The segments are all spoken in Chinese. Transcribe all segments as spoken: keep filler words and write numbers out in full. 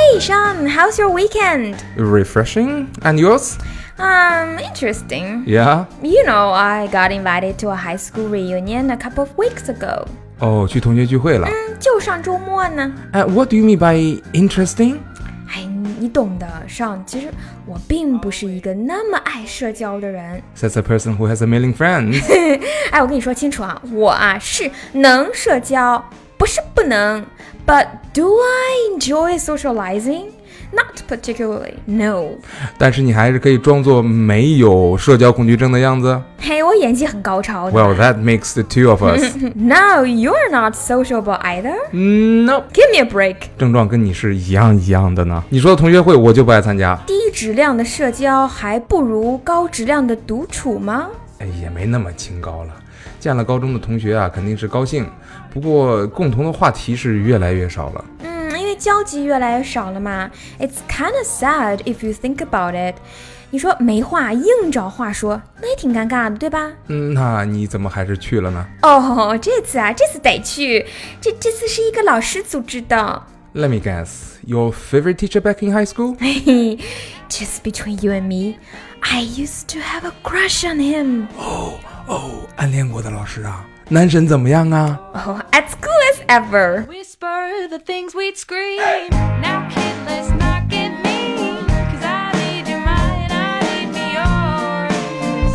Hey Sean, how's your weekend? Refreshing. And yours? Um, interesting. Yeah? You know, I got invited to a high school reunion a couple of weeks ago. 哦，去同学聚会了。 嗯，就上周末呢。 Uh, what do you mean by interesting? 哎，你懂的，上其实我并不是一个那么爱社交的人。 Says a person who has a million friends. 哎，我跟你说清楚啊，我啊是能社交，不是不能。But do I enjoy socializing?Not particularly, no. 但是你还是可以装作没有社交恐惧症的样子。 嘿，我演技很高超的。 Well, that makes the two of us. No, you're not sociable either. No. Give me a break. 症状跟你是一样一样的呢。你说的同学会我就不爱参加。 低质量的社交还不如高质量的独处吗？ 哎，也没那么清高了。见了高中的同学啊，肯定是高兴，不过共同的话题是越来越少了。 嗯，因为交集越来越少了嘛。It's kind of sad if you think about it. 你说没话硬找话说，那也挺尴尬的，对吧？ 嗯，那你怎么还是去了呢？ 哦，这次啊，这次得去。这这次是一个老师组织的。 Let me guess, your favorite teacher back in high school? Just between you and me, I used to have a crush on him. 哦哦，暗恋过的老师啊，男神怎么样啊？ Oh, as cool as ever. Whisper the things we'd scream. Now kid, let's not get mean. Cause I need your mind, I need me yours.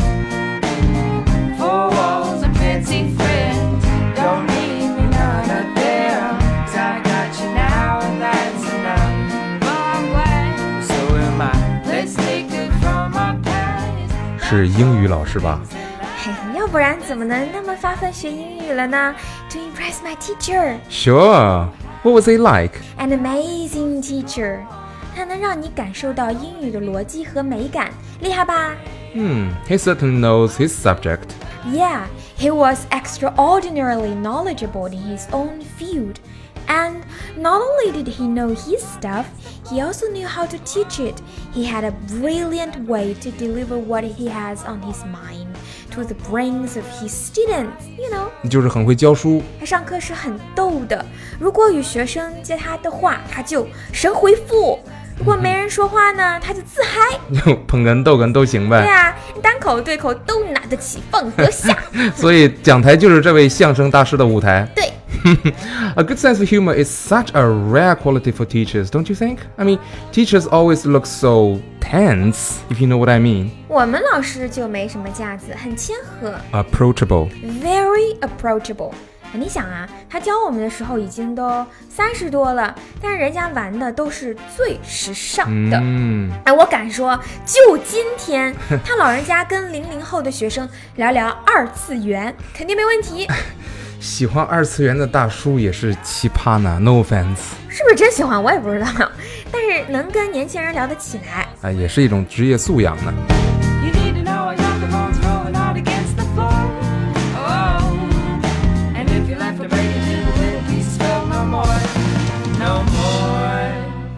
Four walls and fancy friends. Don't need me none of them. Cause I got you now and that's enough. Well, I'm glad, so am I. Let's take it from our past. 是英语老师吧？ 要不然怎么能那么发奋学英语了呢？ To impress my teacher. Sure. What was he like? An amazing teacher. 他能让你感受到英语的逻辑和美感，厉害吧？ Hmm, he certainly knows his subject. Yeah, he was extraordinarily knowledgeable in his own field. And not only did he know his stuff, he also knew how to teach it. He had a brilliant way to deliver what he has on his mind to the brains of his students, you know. 就是很会教书。 他上课是很逗的，如果与学生接他的话，他就神回复；如果没人说话呢，他就自嗨。 捧哏逗哏都行呗。 对啊，单口对口都拿得起，放得下。 所以讲台就是这位相声大师的舞台。 对。 A good sense of humor is such a rare quality for teachers, don't you think? I mean, teachers always look so tense, if you know what I mean. 我们老师就没什么架子，很谦和 Approachable. Very approachable. 你想啊，他教我们的时候已经都三十多了，但是人家玩的都是最时尚的。 嗯， 哎，我敢说，就今天他老人家跟零零后的学生聊聊二次元，肯定没问题。 喜欢二次元的大叔也是奇葩呢 ，no offense。 是不是真喜欢我也不知道，但是能跟年轻人聊得起来， 啊，也是一种职业素养呢。 You need to know I got the bones rolling out against the floor. Oh, and if you left to break it into little pieces, well, no more, no more.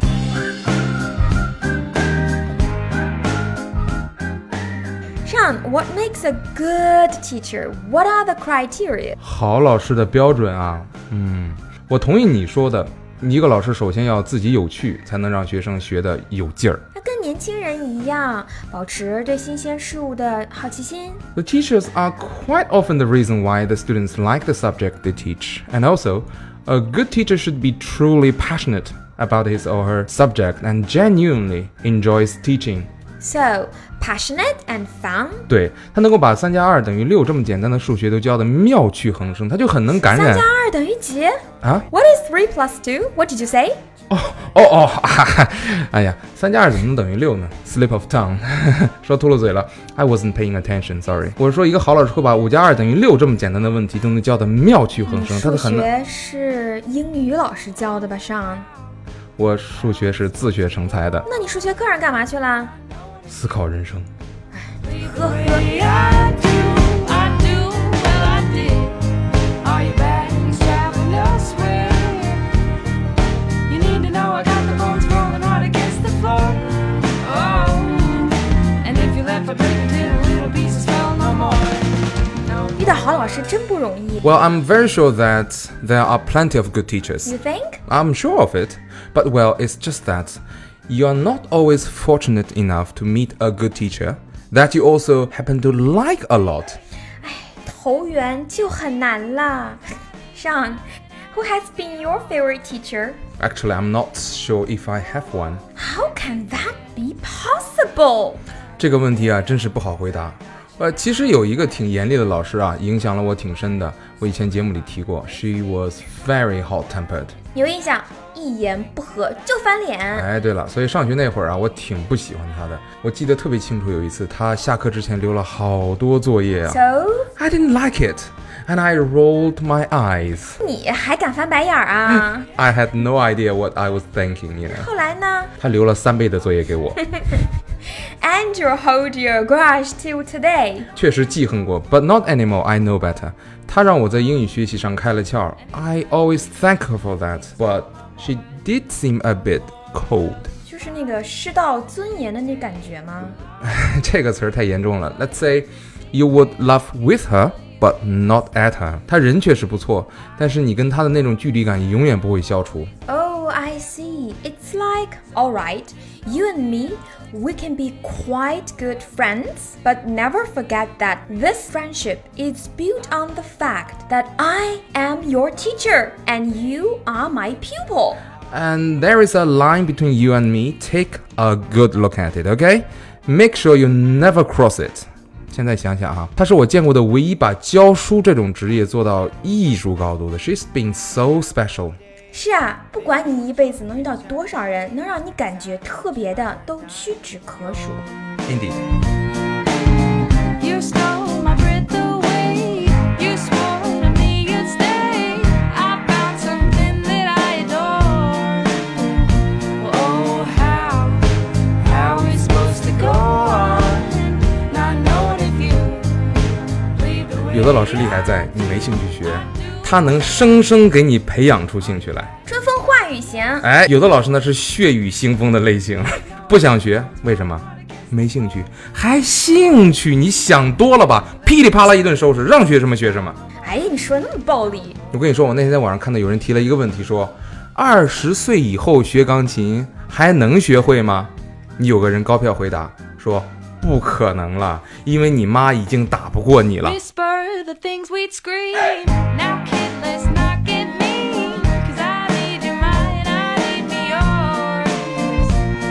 Sean, what makes a good teacher? What are the criteria? 好老师的标准啊，嗯，我同意你说的，一个老师首先要自己有趣，才能让学生学得有劲儿。 他跟年轻人一样，保持对新鲜事物的好奇心。 The teachers are quite often the reason why the students like the subject they teach. And also, a good teacher should be truly passionate about his or her subject and genuinely enjoys teaching. So, passionate and fun. 对，他能够把三加二等于六这么简单的数学都教得妙趣横生，他就很能感染。 三加二等于几啊 ？What is three plus two? What did you say? 哦哦哦，哈哈，哎呀，三加二怎么能等于六呢 ？Slip of tongue， 说秃噜嘴了。I wasn't paying attention, sorry。我是说，一个好老师会把五加二等于六这么简单的问题都能教得妙趣横生，他的很。 数学是英语老师教的吧，上？ 我数学是自学成才的。 那你数学课上干嘛去了？ 思考人生。 呵呵。 I do, I do, well I did. Are your bags traveling elsewhere? You need to know I got the bones rolling hard against the floor. Oh, and if you left for breaking into little pieces, well no more. No more. 遇到好老师师真不容易。 Well, I'm very sure that there are plenty of good teachers. You think? I'm sure of it. But well, it's just that you're not always fortunate enough to meet a good teacher that you also happen to like a lot. 投缘就很难啦。Sean, who has been your favorite teacher? Actually, I'm not sure if I have one. How can that be possible? 这个问题啊，真是不好回答。呃，其实有一个挺严厉的老师啊，影响了我挺深的。我以前节目里提过 ，She was very hot-tempered. 有印象，一言不合就翻脸。 哎，对了，所以上学那会儿啊，我挺不喜欢她的。我记得特别清楚，有一次她下课之前留了好多作业啊。 So? I didn't like it, and I rolled my eyes. 你还敢翻白眼儿啊？ I had no idea what I was thinking, you know. 后来呢她留了三倍的作业给我， ？And you hold your grudge till today. 确实记恨过 ，but not anymore. I know better. 她让我在英语学习上开了窍。I always thank her for that, but she did seem a bit cold. 就是那个失到尊严的那感觉吗？ 这个词儿太严重了。Let's say you would laugh with her, but not at her. 她人确实不错，但是你跟她的那种距离感永远不会消除。 Oh, I see. It's like, all right, you and me, we can be quite good friends, but never forget that this friendship is built on the fact that I am your teacher and you are my pupil. And there is a line between you and me. Take a good look at it, okay? Make sure you never cross it. 现在想想哈，她是我见过的唯一把教书这种职业做到艺术高度的。She's been so special. 是啊，不管你一辈子能遇到多少人，能让你感觉特别的，都屈指可数。 Indeed. You stole my breath away. You swore to me you'd stay. I found something that I adore. Oh, how, how we supposed to go on? Not knowing if you leave the way. 有的老师厉害在你没兴趣学，他能生生给你培养出兴趣来。 春风化雨型。 哎，有的老师呢是血雨腥风的类型，不想学，为什么？没兴趣，还兴趣？你想多了吧？噼里啪啦一顿收拾，让学什么学什么。 哎，你说那么暴力。 我跟你说，我那天在网上看到有人提了一个问题，说二十岁以后学钢琴还能学会吗？你有个人高票回答说不可能了，因为你妈已经打不过你了。 Whisper the things we'd scream. Now kid, let's not get mean. 'Cause I need your mind, I need me yours.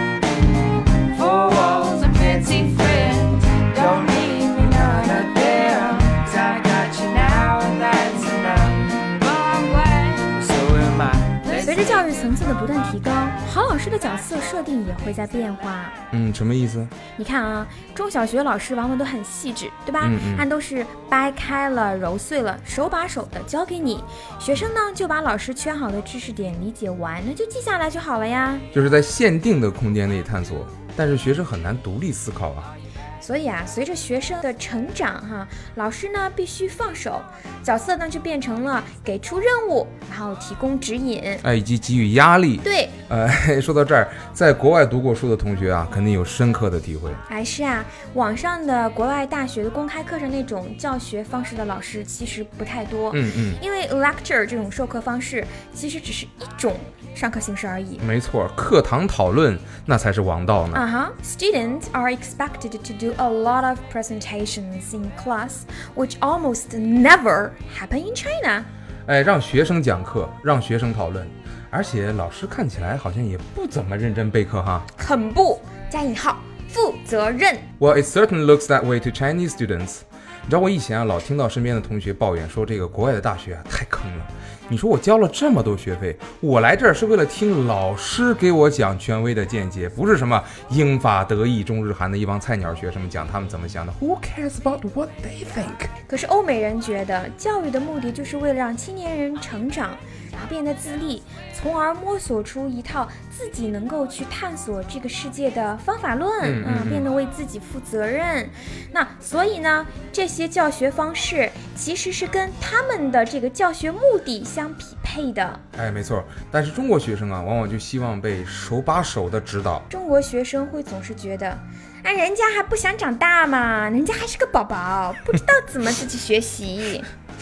Four walls and fancy friends. Don't need me none of them. 'Cause I got you now and that's enough. But I'm glad, so am I. 随着教育层次的不断提高，好老师的角色设定也会在变化。 嗯，什么意思？ 你看啊，中小学老师往往都很细致，对吧？ 嗯嗯按都是掰开了、揉碎了，手把手的教给你。学生呢，就把老师圈好的知识点理解完，那就记下来就好了呀。 就是在限定的空间内探索，但是学生很难独立思考啊。 所以啊，随着学生的成长哈，老师呢必须放手，角色呢就变成了给出任务，然后提供指引， 哎，以及给予压力。 对， 呃，说到这儿，在国外读过书的同学啊，肯定有深刻的体会。 还是啊，网上的国外大学的公开课上那种教学方式的老师其实不太多， 嗯嗯， 因为 lecture 这种授课方式其实只是一种上课形式而已。 没错，课堂讨论那才是王道呢。 啊哈、uh-huh. Students are expected to do a lot of presentations in class, which almost never happen in China. 哎，让学生讲课，让学生讨论，而且老师看起来好像也不怎么认真备课哈。 很不加引号负责任。 Well, it certainly looks that way to Chinese students. 你知道我以前啊，老听到身边的同学抱怨说，这个国外的大学啊太坑了。你说我交了这么多学费，我来这儿是为了听老师给我讲权威的见解，不是什么英法德意中日韩的一帮菜鸟学生们讲他们怎么想的。Who cares about what they think？ 可是欧美人觉得，教育的目的就是为了让青年人成长，然后变得自立，从而摸索出一套自己能够去探索这个世界的方法论， 嗯嗯嗯变得为自己负责任。那所以呢，这些教学方式其实是跟他们的这个教学目的相匹配的。 哎，没错。但是中国学生啊，往往就希望被手把手的指导。 中国学生会总是觉得，哎，人家还不想长大嘛，人家还是个宝宝，不知道怎么自己学习。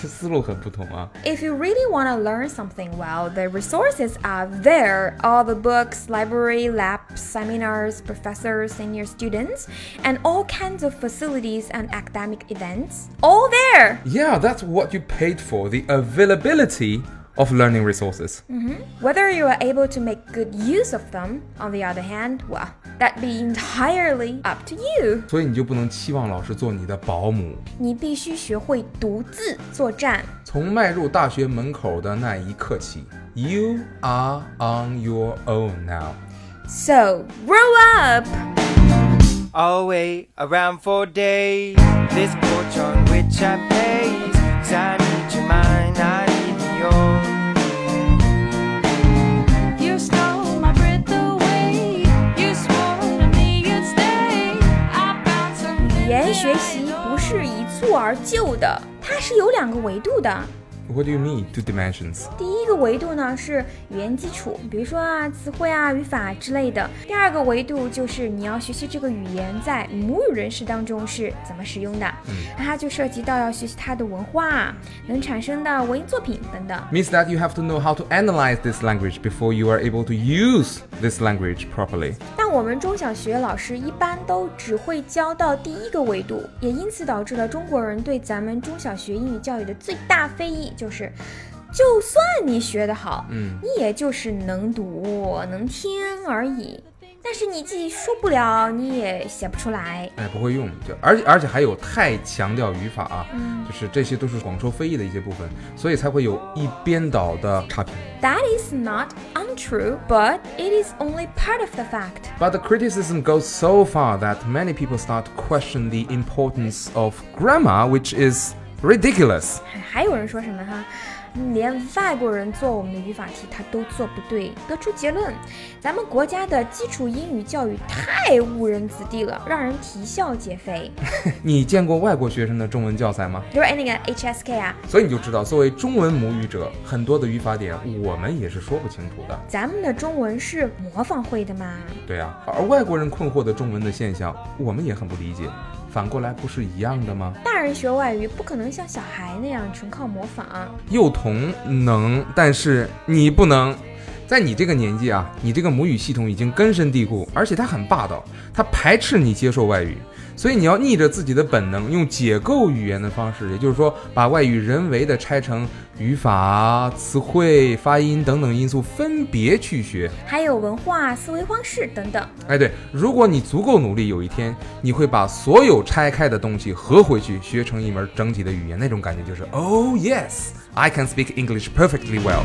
思路很不同啊。 If you really want to learn something well, the resources are there. All the books, library, labs, seminars, professors, senior students, and all kinds of facilities and academic events. All there! Yeah, that's what you paid for, the availability of learning resources. Whether you are able to make good use of them, on the other hand, well, that'd be entirely up to you. 所以你就不能期望老师做你的保姆。 你必须学会独自作战。 从迈入大学门口的那一刻起 You are on your own now. So, grow up! I'll wait around for days. This porch on which I pace. 'Cause I need your mind, I need yours. You stole my breath away. You swore to me you'd stay. I found something 语言学习不是一蹴而就的，它是有两个维度的。 What do you mean, two dimensions? 第一个维度呢是语言基础，比如说啊词汇啊语法之类的。第二个维度就是你要学习这个语言在母语人士当中是怎么使用的， 嗯、 那它就涉及到要学习它的文化，能产生的文艺作品等等。 Means that you have to know how to analyze this language before you are able to use this language properly. 但我们中小学老师一般都只会教到第一个维度，也因此导致了中国人对咱们中小学英语教育的最大非议就是，就算你学得好， 嗯， 你也就是能读能听而已。但是你既说不了，你也写不出来。 哎，不会用，就而且而且还有太强调语法啊， 嗯， 就是这些都是广受非议的一些部分，所以才会有一边倒的差评。 That is not untrue, but it is only part of the fact. But the criticism goes so far that many people start to question the importance of grammar, which is ridiculous. 还有人说什么哈？连外国人做我们的语法题他都做不对，得出结论，咱们国家的基础英语教育太误人子弟了，让人啼笑皆非。 你见过外国学生的中文教材吗？ 就是那个 H S K 啊， 所以你就知道，作为中文母语者，很多的语法点我们也是说不清楚的。 咱们的中文是模仿会的嘛？ 对啊，而外国人困惑的中文的现象，我们也很不理解。反过来不是一样的吗？ 大人学外语不可能像小孩那样纯靠模仿。 幼童能，但是你不能。在你这个年纪啊，你这个母语系统已经根深蒂固，而且它很霸道，它排斥你接受外语，所以你要逆着自己的本能，用解构语言的方式，也就是说把外语人为的拆成语法、词汇、发音等等因素分别去学， 还有文化、思维方式等等。 哎，对，如果你足够努力，有一天你会把所有拆开的东西合回去，学成一门整体的语言，那种感觉就是 Oh yes, I can speak English perfectly well。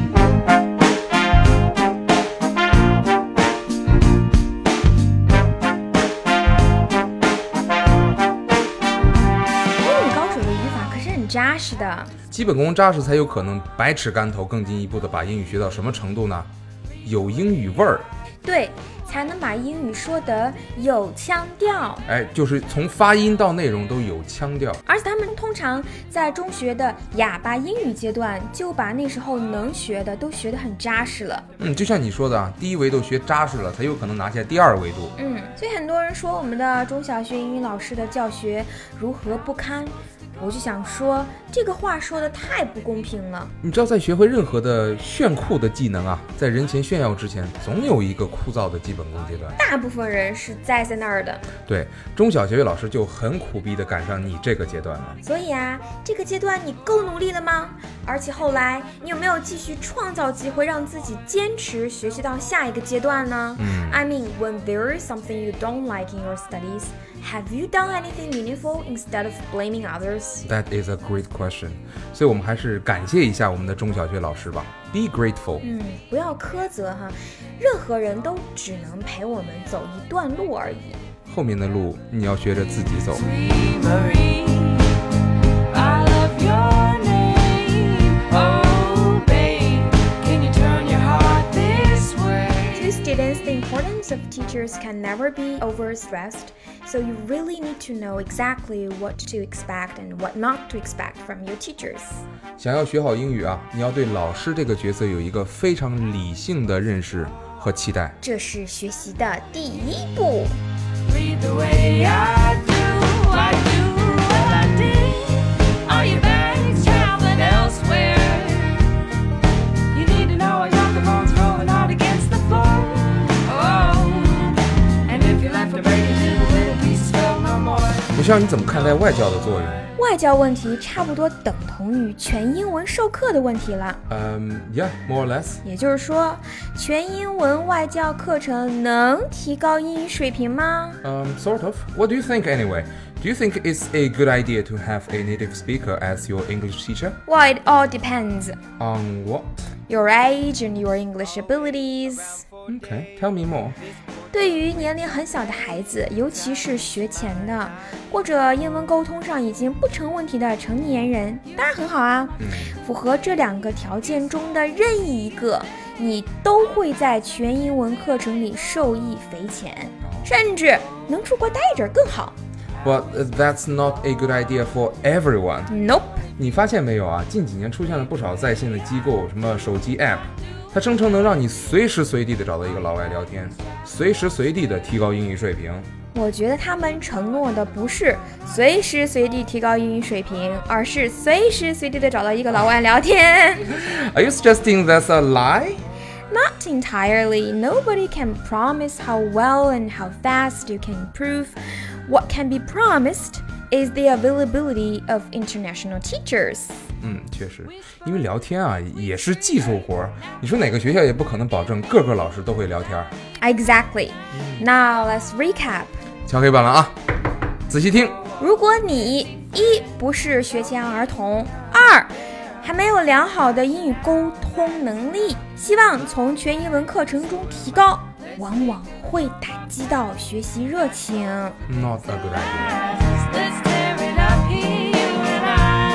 扎实的基本功扎实，才有可能百尺竿头，更进一步的把英语学到什么程度呢？有英语味儿， 对，才能把英语说得有腔调。 哎，就是从发音到内容都有腔调。 而且他们通常在中学的哑巴英语阶段，就把那时候能学的都学得很扎实了。 嗯，就像你说的啊，第一维度学扎实了，才有可能拿下第二维度。 嗯，所以很多人说我们的中小学英语老师的教学如何不堪。我就想说，这个话说的太不公平了。 你知道，在学会任何的炫酷的技能啊，在人前炫耀之前，总有一个枯燥的基本功阶段。 大部分人是栽在那儿的。 对，中小学老师就很苦逼的赶上你这个阶段了。 所以啊，这个阶段你够努力了吗？而且后来你有没有继续创造机会，让自己坚持学习到下一个阶段呢？ 嗯 I mean, when there is something you don't like in your studies, have you done anything meaningful instead of blaming others? That is a great question. 所以我们还是感谢一下我们的中小学老师吧。Be grateful. 嗯，不要苛责哈，任何人都只能陪我们走一段路而已。 后面的路你要学着自己走。 Sweet Marie, I love your name. Oh, babe, can you turn your heart this way? To students, the importance of teachers can never be overstressed, so you really need to know exactly what to expect and what not to expect from your teachers. 想要学好英语啊，你要对老师这个角色有一个非常理性的认识和期待。 这是学习的第一步。 Read the way I do, I do what I did. All your bags travel 校，你怎么看待外教的作用？ 外教问题差不多等同于全英文授课的问题了。 嗯、um, ，Yeah, more or less。 也就是说，全英文外教课程能提高英语水平吗？ Um, sort of. What do you think anyway? Do you think it's a good idea to have a native speaker as your English teacher? Well, it all depends. On what? Your age and your English abilities. Okay, tell me more. 对于年龄很小的孩子，尤其是学前的，或者英文沟通上已经不成问题的成年人，当然很好啊。 嗯、 符合这两个条件中的任意一个，你都会在全英文课程里受益匪浅，甚至能出国待一阵更好。 But that's not a good idea for everyone. Nope. 你发现没有啊？近几年出现了不少在线的机构，什么手机 app， 它声称能让你随时随地的找到一个老外聊天，随时随地的提高英语水平。 我觉得他们承诺的不是随时随地提高英语水平，而是随时随地的找到一个老外聊天。 Are you suggesting that's a lie? Not entirely. Nobody can promise how well and how fast you can improve. What can be promised is the availability of international teachers. 嗯，确实，因为聊天啊也是技术活，你说哪个学校也不可能保证个个老师都会聊天。 Exactly. Now let's recap. 敲黑板了啊，仔细听。 如果你一不是学前儿童，二还没有良好的英语沟通能力，希望从全英文课程中提高，往往会打击到学习热情。 Not a good idea. Let's tear it up here, you and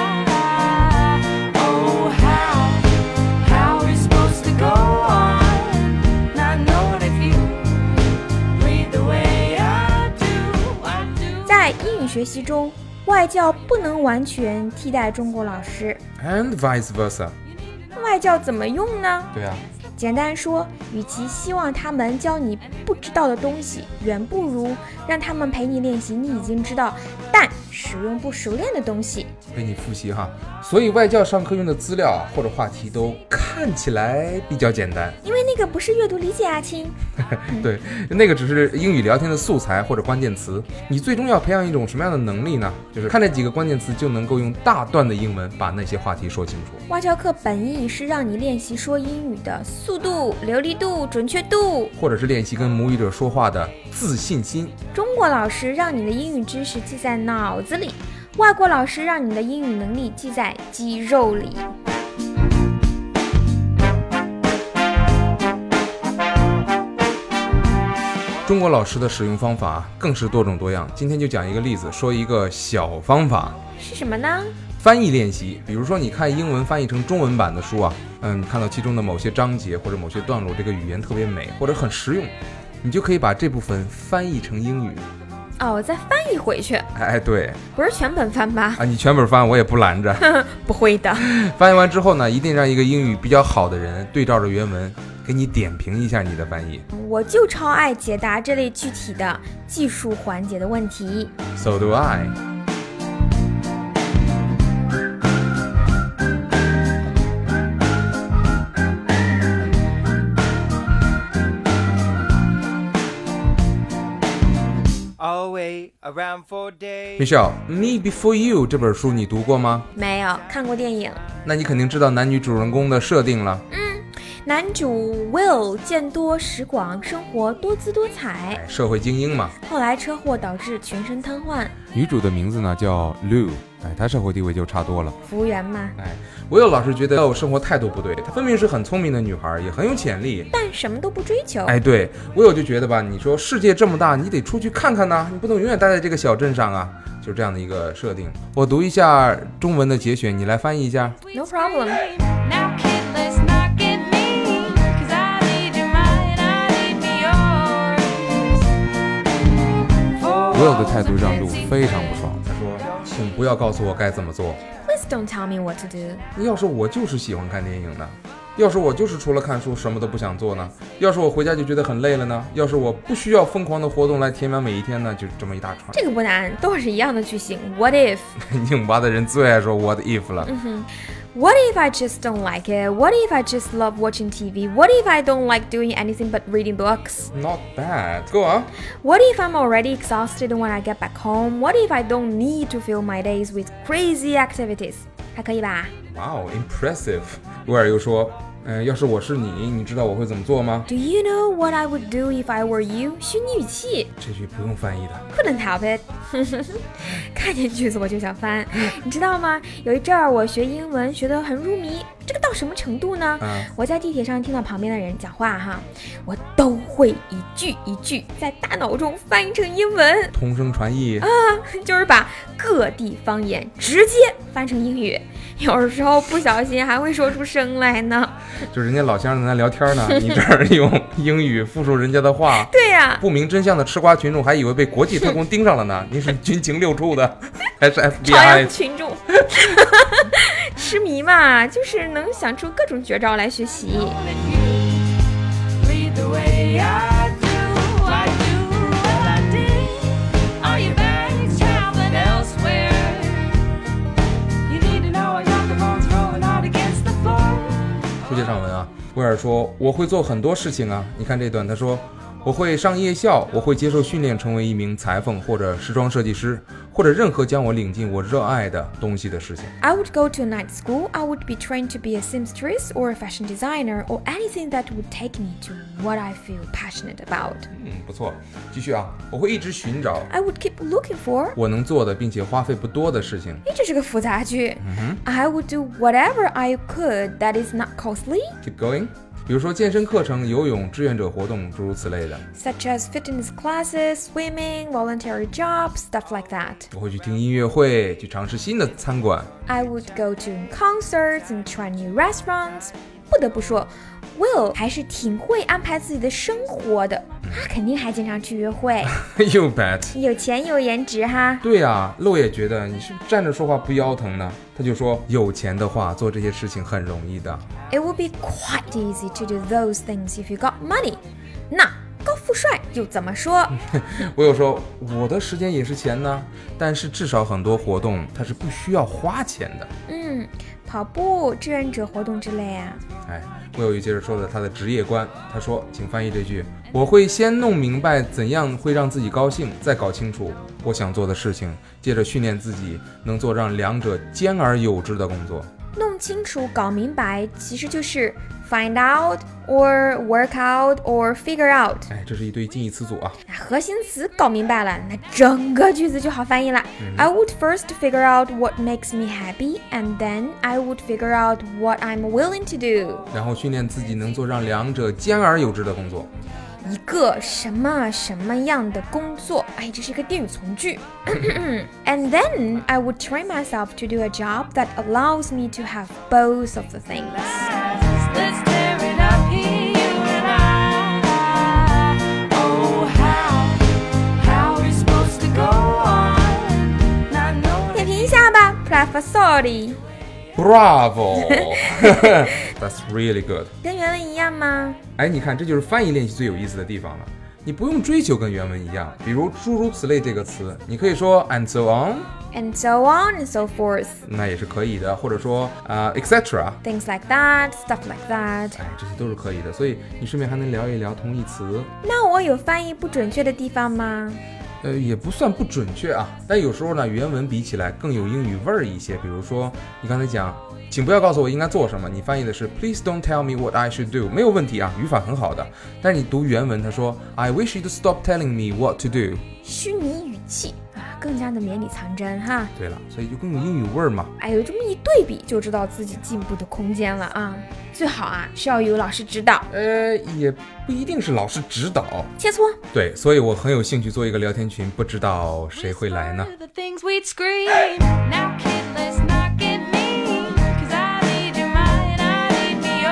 I. Oh, how, how we're supposed to go on, not knowing if you read the way I do, I do. 在英语学习中，外教不能完全替代中国老师。 And vice versa. 外教怎么用呢？ 对啊。 简单说，与其希望他们教你不知道的东西，远不如让他们陪你练习你已经知道但使用不熟练的东西。 陪你复习哈。所以外教上课用的资料或者话题都看起来比较简单， 因为那个不是阅读理解啊，亲。 对，那个只是英语聊天的素材或者关键词。你最终要培养一种什么样的能力呢？就是看这几个关键词就能够用大段的英文把那些话题说清楚。 外教课本意是让你练习说英语的速度、流利度、准确度， 或者是练习跟母语者说话的自信心。 中国老师让你的英语知识记在脑子里，外国老师让你的英语能力记在肌肉里。 中国老师的使用方法更是多种多样，今天就讲一个例子，说一个小方法。 是什么呢？ 翻译练习。比如说你看英文翻译成中文版的书啊，嗯，你看到其中的某些章节或者某些段落，这个语言特别美或者很实用，你就可以把这部分翻译成英语。 哦，再翻译回去。 哎，对， 不是全本翻吧？ 啊，你全本翻我也不拦着。 不会的。 翻译完之后呢，一定让一个英语比较好的人对照着原文给你点评一下你的翻译。 我就超爱解答这类具体的技术环节的问题。 So do I。 Away around for days. Michelle, Me Before You 这本书你读过吗？ 没有看过电影。 那你肯定知道男女主人公的设定了。 男主 Will 见多识广，生活多姿多彩， 社会精英嘛。 后来车祸导致全身瘫痪。 女主的名字呢叫 Lou， 哎，她社会地位就差多了。 服务员嘛。 哎，我有老师觉得 Lou 生活态度不对，她分明是很聪明的女孩，也很有潜力， 但什么都不追求。 哎，对，我有就觉得吧，你说世界这么大，你得出去看看呐，你不能永远待在这个小镇上啊，就是这样的一个设定。我读一下中文的节选，你来翻译一下。 No problem. Now kid, let's not get mean, 'cause I need your mind, I need me yours. Will 的态度让路非常不爽，他说：“请不要告诉我该怎么做。 Please don't tell me what to do. 要是我就是喜欢看电影的，要是我就是除了看书什么都不想做呢？要是我回家就觉得很累了呢？要是我不需要疯狂的活动来填满每一天呢？就这么一大串。 这个不难，都是一样的句型。What if？ 拧巴的人最爱说 What if 了。 嗯哼， What if I just don't like it? What if I just love watching T V? What if I don't like doing anything but reading books? Not bad. Go on. What if I'm already exhausted when I get back home? What if I don't need to fill my days with crazy activities? 还可以吧？ Wow, impressive. 威尔又说，嗯，要是我是你，你知道我会怎么做吗？ Do you know what I would do if I were you? 虚拟语气。 这句不用翻译的。 Couldn't help it 看见句子我就想翻。你知道吗？有一阵儿我学英文学得很入迷，这个到什么程度呢？ 嗯我在地铁上听到旁边的人讲话哈，我都会一句一句在大脑中翻译成英文， 同声传译啊，就是把各地方言直接翻成英语，有时候不小心还会说出声来呢。 就人家老乡在那聊天呢，你这儿用英语复述人家的话。 对呀、 不明真相的吃瓜群众还以为被国际特工盯上了呢。您是军情六处的，还是 F B 朝 I？ 阳群众痴迷嘛，就是能想出各种绝招来学习。 Read the way I do, I do what I did. Are your bags traveling elsewhere? You need to know your phone's rolling out against the floor. 书接上文啊，威尔说我会做很多事情啊。你看这段，他说我会上夜校，我会接受训练成为一名裁缝或者时装设计师，或者任何将我领进我热爱的东西的事情。 I would go to a night school. I would be trained to be a seamstress or a fashion designer or anything that would take me to what I feel passionate about. 嗯，不错，继续啊，我会一直寻找 I would keep looking for. 我能做的并且花费不多的事情。 诶，这是个复杂句。I would do whatever I could that is not costly, Keep going。比如说健身课程、游泳、志愿者活动，诸如此类的。 such as fitness classes, swimming, voluntary jobs, stuff like that. 我会去听音乐会，去尝试新的餐馆。 I would go to concerts and try new restaurants. 不得不说 Will 还是挺会安排自己的生活的，他肯定还经常去约会， You bet。 有钱有颜值哈。 对啊，露也觉得你是不是站着说话不腰疼呢？他就说有钱的话做这些事情很容易的。 It would be quite easy to do those things if you got money. 那高富帅又怎么说？ 我有说我的时间也是钱呢，但是至少很多活动它是不需要花钱的。 嗯，跑步、志愿者活动之类啊。 哎，我有一接着说的他的职业观，他说，请翻译这句：我会先弄明白怎样会让自己高兴，再搞清楚我想做的事情，接着训练自己能做让两者兼而有之的工作。 弄清楚、搞明白，其实就是 find out or work out or figure out。 哎，这是一堆近义词组啊。 那核心词搞明白了，那整个句子就好翻译了。I would first figure out what makes me happy, and then I would figure out what I'm willing to do. 然后训练自己能做让两者兼而有之的工作。 一个什么什么样的工作？哎，这是一个定语从句。And then I would train myself to do a job that allows me to have both of the things. Let's tear it up here, you and I. Oh, how, how are we supposed to go on? Not knowing. 点评一下吧 ，Professori。 Bravo! That's really good. 跟原文一样吗？ 哎，你看，这就是翻译练习最有意思的地方了。你不用追求跟原文一样，比如诸如此类这个词，你可以说 and so on， And so on and so forth. 那也是可以的，或者说啊、uh, et cetera， Things like that, stuff like that. 哎，这些都是可以的。所以你顺便还能聊一聊同义词。 那我有翻译不准确的地方吗？ 呃，也不算不准确啊，但有时候呢，原文比起来更有英语味儿一些。比如说，你刚才讲，请不要告诉我应该做什么，你翻译的是 Please don't tell me what I should do， 没有问题啊，语法很好的。但是你读原文，他说 I wish you to stop telling me what to do， 虚拟语气啊，更加的绵里藏针哈。 对了，所以就更有英语味儿嘛。 哎，有这么一对比，就知道自己进步的空间了啊。最好啊是要有老师指导， 呃，也不一定是老师指导。 切磋。 对，所以我很有兴趣做一个聊天群，不知道谁会来呢？ The things we'd scream. Now, kid, let's not get mean. 'Cause I need your mind, I need me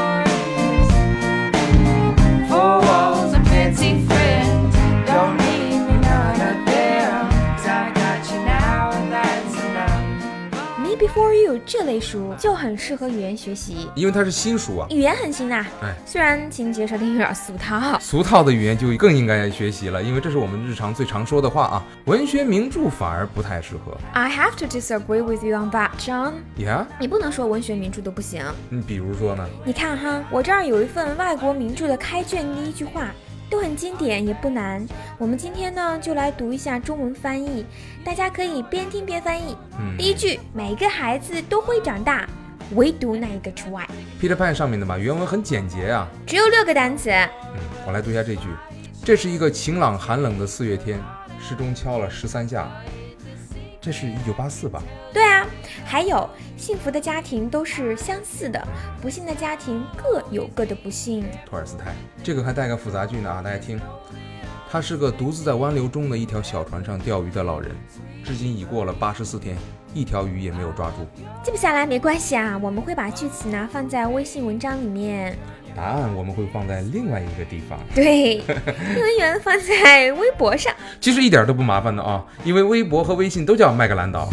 yours. Four walls and fancy friends. Don't need me none of them. 'Cause I got you now and that's enough. Me before for You 这类书就很适合语言学习， 因为它是新书啊。 语言很新呐、 哎， 虽然情节设定有点俗套。 俗套的语言就更应该学习了，因为这是我们日常最常说的话啊。文学名著反而不太适合。 I have to disagree with you on that, John. Yeah？ 你不能说文学名著都不行。 你比如说呢？ 你看哈，我这儿有一份外国名著的开卷第一句话，都很经典，也不难。我们今天呢，就来读一下中文翻译，大家可以边听边翻译。 嗯， 第一句，每个孩子都会长大，唯独那一个除外。 Peter Pan 上面的嘛，原文很简洁啊。 只有六个单词。 嗯，我来读一下这句。这是一个晴朗寒冷的四月天，时钟敲了十三下。这是一九八四吧？ 对啊，还有幸福的家庭都是相似的，不幸的家庭各有各的不幸。 托尔斯泰。这个还带个复杂句呢啊，大家听。他是个独自在湾流中的一条小船上钓鱼的老人，至今已过了八十四天，一条鱼也没有抓住。 记不下来没关系啊，我们会把句词呢放在微信文章里面。 答案我们会放在另外一个地方。 对，英文原放在微博上。 其实一点都不麻烦的啊，因为微博和微信都叫麦格兰岛。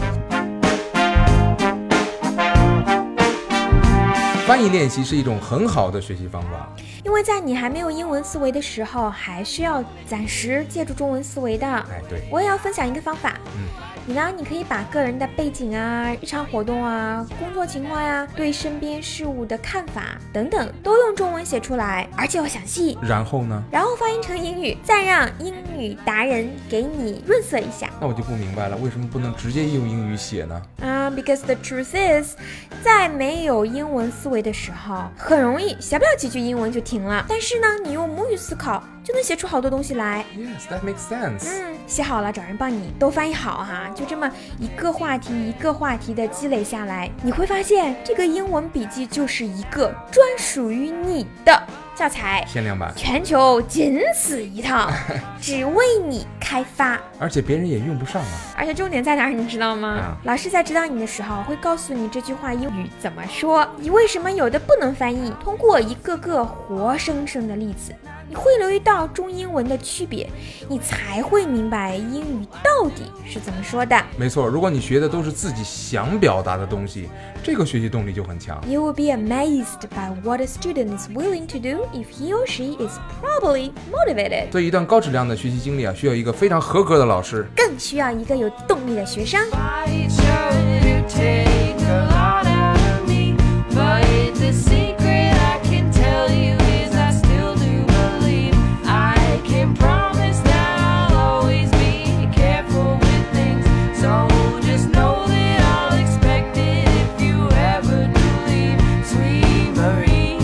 翻译练习是一种很好的学习方法， 因为在你还没有英文思维的时候，还是要暂时借助中文思维的。 哎，对， 我也要分享一个方法。 嗯， 你呢？你可以把个人的背景啊、日常活动啊、工作情况呀、对身边事物的看法等等，都用中文写出来，而且要详细。 然后呢？ 然后翻译成英语，再让英语达人给你润色一下。 那我就不明白了，为什么不能直接用英语写呢？ 啊、uh, ，because the truth is， 在没有英文思维的时候，很容易写不了几句英文就停了。但是呢，你用母语思考，就能写出好多东西来。 Yes, that makes sense. 嗯，写好了找人帮你都翻译好哈，就这么一个话题一个话题的积累下来，你会发现这个英文笔记就是一个专属于你的教材， 限量版， 全球仅此一套，只为你开发， 而且别人也用不上啊。 而且重点在哪儿，你知道吗？ 啊、 老师在指导你的时候会告诉你这句话英语怎么说，你为什么有的不能翻译，通过一个个活生生的例子，你会留意到中英文的区别，你才会明白英语到底是怎么说的。 没错，如果你学的都是自己想表达的东西，这个学习动力就很强。 You will be amazed by what a student is willing to do if he or she is properly motivated. 对一段高质量的学习经历啊，需要一个非常合格的老师， 更需要一个有动力的学生。 I chose to take a lot out of me, but the secret I can tell you is I still do believe I can promise that I'll always be careful with things, so just know that I'll expect it if you ever do leave. Sweet Marie,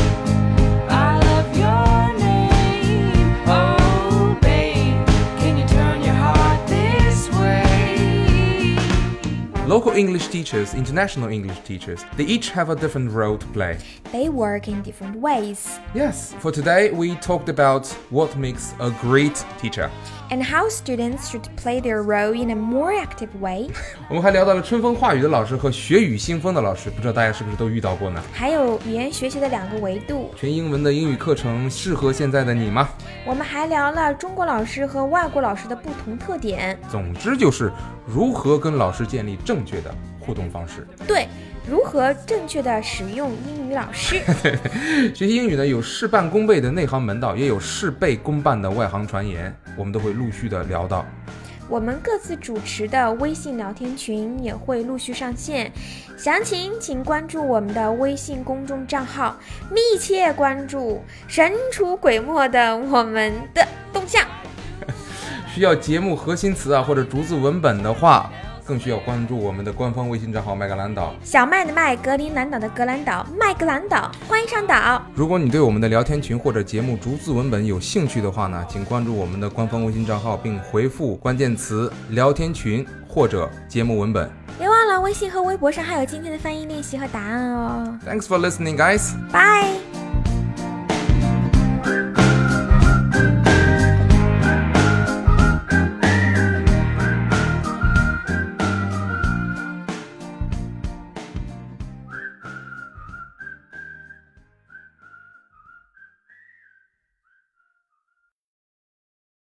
I love your name. Oh babe, can you turn your heart this way? Local English teachers, international English teachers, they each have a different role to play. They work in different ways. Yes, for today we talked about what makes a great teacher. And how students should play their role in a more active way. 我们还聊到了春风化雨的老师和学语新风的老师，不知道大家是不是都遇到过呢？ 还有语言学习的两个维度。 全英文的英语课程适合现在的你吗？ 我们还聊了中国老师和外国老师的不同特点。 总之就是如何跟老师建立正确的互动方式。 对，如何正确的使用英语老师。 学习英语呢，有事半功倍的内行门道，也有事倍功半的外行传言，我们都会陆续的聊到。 我们各自主持的微信聊天群也会陆续上线，详情请关注我们的微信公众账号，密切关注神出鬼没的我们的动向。 需要节目核心词啊或者逐字文本的话，更需要关注我们的官方微信账号麦格兰岛。 小麦的麦，格陵兰岛的格兰岛，麦格兰岛，欢迎上岛。 如果你对我们的聊天群或者节目逐字文本有兴趣的话呢，请关注我们的官方微信账号，并回复关键词聊天群或者节目文本。 别忘了微信和微博上还有今天的翻译练习和答案哦。 Thanks for listening, guys. Bye.